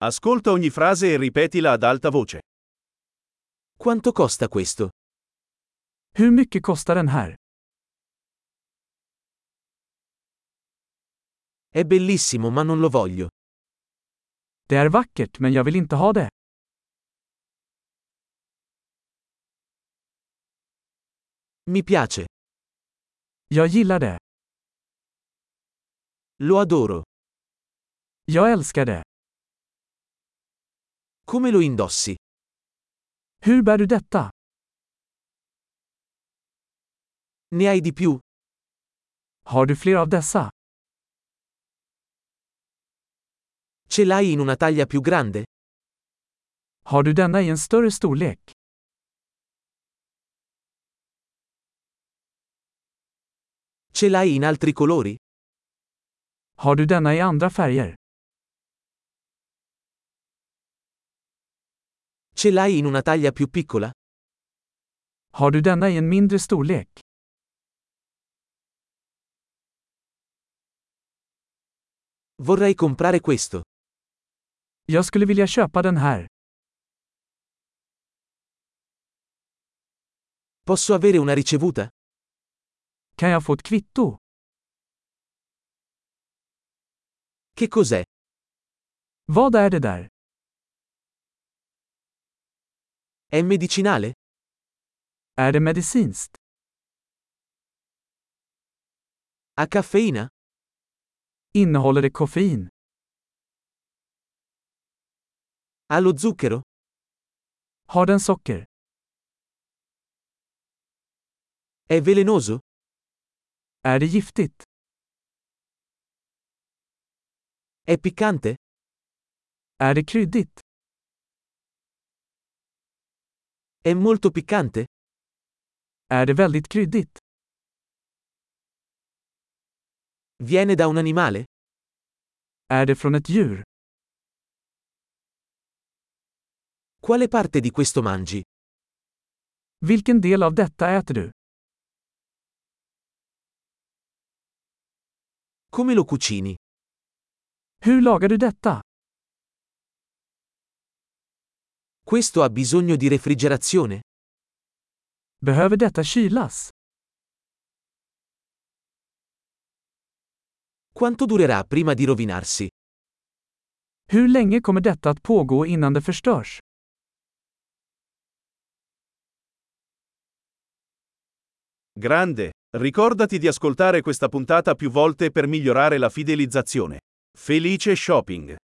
Ascolta ogni frase e ripetila ad alta voce. Quanto costa questo? Hur mycket kostar den här? È bellissimo ma non lo voglio. Det är vackert men jag vill inte ha det. Mi piace. Jag gillar det. Lo adoro. Jag älskar det. Come lo indossi? Hur bär du detta? Ne hai di più? Har du fler av dessa? Ce l'hai in una taglia più grande? Har du denna i en större storlek? Ce l'hai in altri colori? Har du denna i andra färger? Ce l'hai in una taglia più piccola? Har du denna i en mindre storlek? Vorrei comprare questo. Jag skulle vilja köpa den här. Posso avere una ricevuta? Kan jag få ett kvitto? Che cos'è? Vad är det där? È medicinale? Är det medicinskt? Ha caffeina? Innehåller det koffein? Ha lo zucchero? Har den socker? È velenoso? Är det giftigt? È piccante? Är det kryddigt? È molto piccante? Är det väldigt kryddigt? Viene da un animale? Är det från ett djur? Quale parte di questo mangi? Vilken del av detta äter du? Come lo cucini? Hur lagar du detta? Questo ha bisogno di refrigerazione? Behöver detta kylas? Quanto durerà prima di rovinarsi? Hur länge kommer detta att pågå innan det förstörs? Grande! Ricordati di ascoltare questa puntata più volte per migliorare la fidelizzazione. Felice shopping!